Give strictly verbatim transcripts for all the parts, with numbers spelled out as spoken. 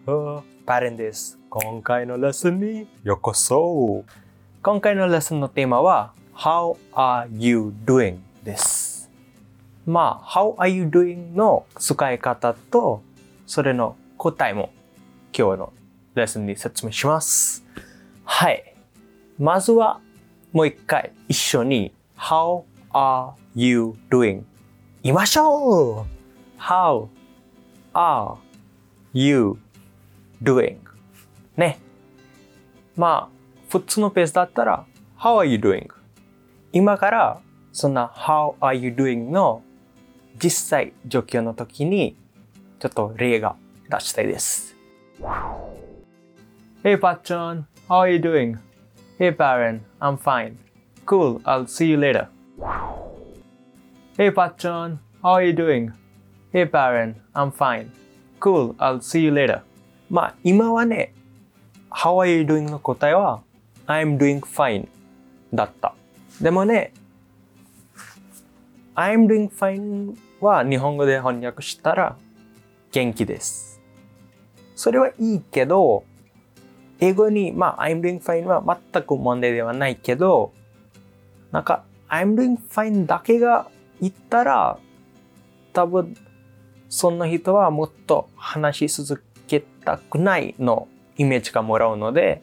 パレンです。今回のレッスンにようこそ。今回のレッスンのテーマは How are you doing? です。まあ How are you doing? の使い方とそれの答えも今日のレッスンに説明します。はい。まずはもう一回一緒に How are you doing? 言いましょう。 How are you doing? ね。まあ普通のペースだったら How are you doing? 今からそんな How are you doing? の実際状況の時にちょっと例が出したいです。Hey Patchan, how are you doing? Hey Paren, I'm fine. Cool, I'll see you later. Hey Patchan, how are you doing? Hey Paren, I'm fine. Cool, I'll see you later. まあ今はね、How are you doing の答えは I'm doing fine だった。でもね、I'm doing fine は日本語で翻訳したら元気です。それはいいけど、英語にまあ I'm doing fine は全く問題ではないけど、なんか I'm doing fine だけが言ったら多分そんな人はもっと話し続けたくないのイメージがもらうので、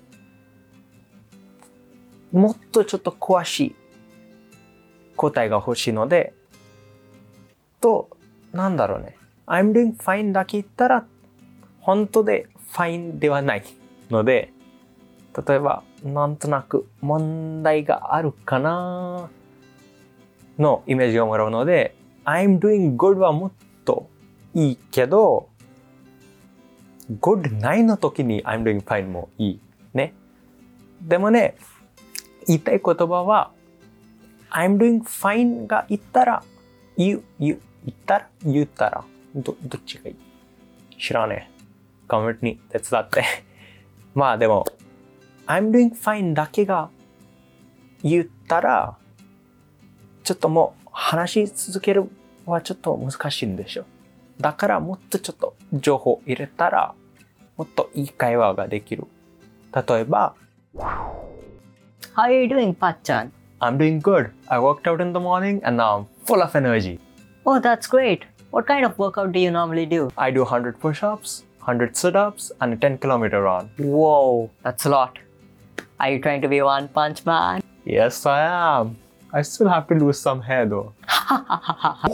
もっとちょっと詳しい答えが欲しいので、と、なんだろうね。I'm doing fine だけ言ったら本当で fine ではないので、例えばなんとなく問題があるかなのイメージをもらうので、I'm doing good はもっといいけど、good ないの時に I'm doing fine もいいね。でもね、言いたい言葉は I'm doing fine が言ったら、言う、言う、言ったら、言ったら、ど、どっちがいい？知らねえ。コメントに手伝って。まあでも、I'm doing fine だけが言ったら、ちょっともう話し続けるはちょっと難しいんでしょ。だからもっとちょっと情報入れたら、もっといい会話ができる。例えば、 How are you doing, Patchan? I'm doing good. I worked out in the morning and now I'm full of energy. Oh, that's great. What kind of workout do you normally do? I do one hundred push-ups, one hundred sit-ups and a ten kilometer run. Whoa, that's a lot. Are you trying to be One Punch Man? Yes, I am. I still have to lose some hair though. How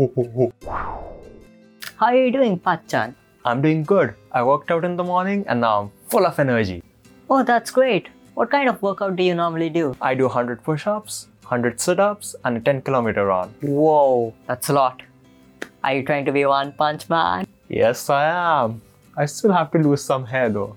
are you doing, Patchan? I'm doing good. I worked out in the morning and now I'm full of energy. Oh, that's great. What kind of workout do you normally do? I do one hundred push-ups, one hundred sit-ups and a ten kilometer run. Whoa, that's a lot. Are you trying to be One Punch Man? Yes, I am. I still have to lose some hair though.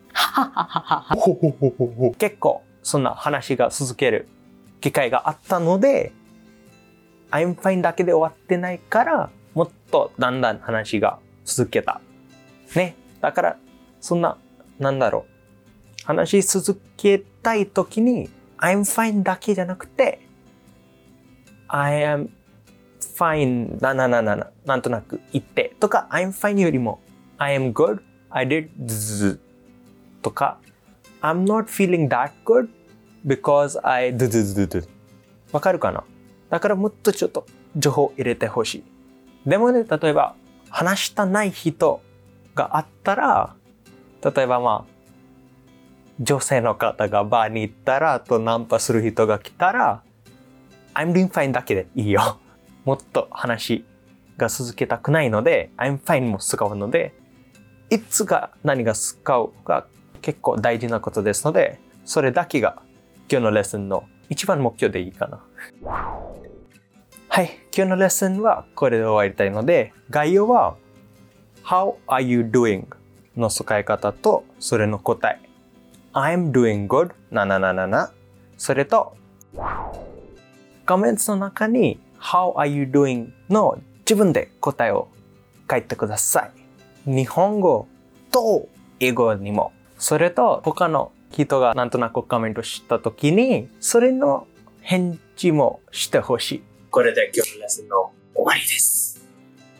結構そんな話が続ける機会があったので、I'm fine だけで終わってないから、もっとだんだん話が続けた。ね。だから、そんな、なんだろう。話し続けたいときに、I'm fine だけじゃなくて、I am fine ななななな、なんとなく言ってとか、I'm fine よりも、I am good, I did z とか、I'm not feeling that good because I d d d d わかるかな？だからもっとちょっと情報入れてほしい。でもね、例えば話したない人があったら、例えばまあ、女性の方がバーに行ったら、とナンパする人が来たら、I'm doing fine だけでいいよ。もっと話が続けたくないので、I'm fine も使うので、いつが何が使うが結構大事なことですので、それだけが今日のレッスンの一番目標でいいかな。はい、今日のレッスンはこれで終わりたいので、概要は How are you doing? の使い方とそれの答え。I'm doing good ななななな。それとコメントの中に How are you doing? の自分で答えを書いてください。日本語と英語にも。それと他の人がなんとなくコメントしたときに、それの返事もしてほしい。これで今日のレッスンの終わりです。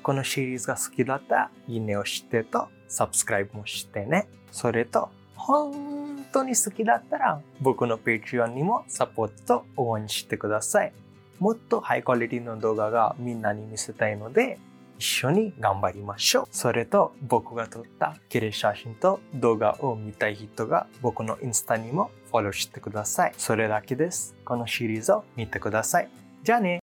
このシリーズが好きだったら、いいねをしてと、サブスクライブもしてね。それと、本当に好きだったら、僕の Patreon にもサポートと応援してください。もっとハイクオリティの動画がみんなに見せたいので、一緒に頑張りましょう。それと、僕が撮った綺麗写真と動画を見たい人が僕のインスタにもフォローしてください。それだけです。このシリーズを見てください。じゃあね。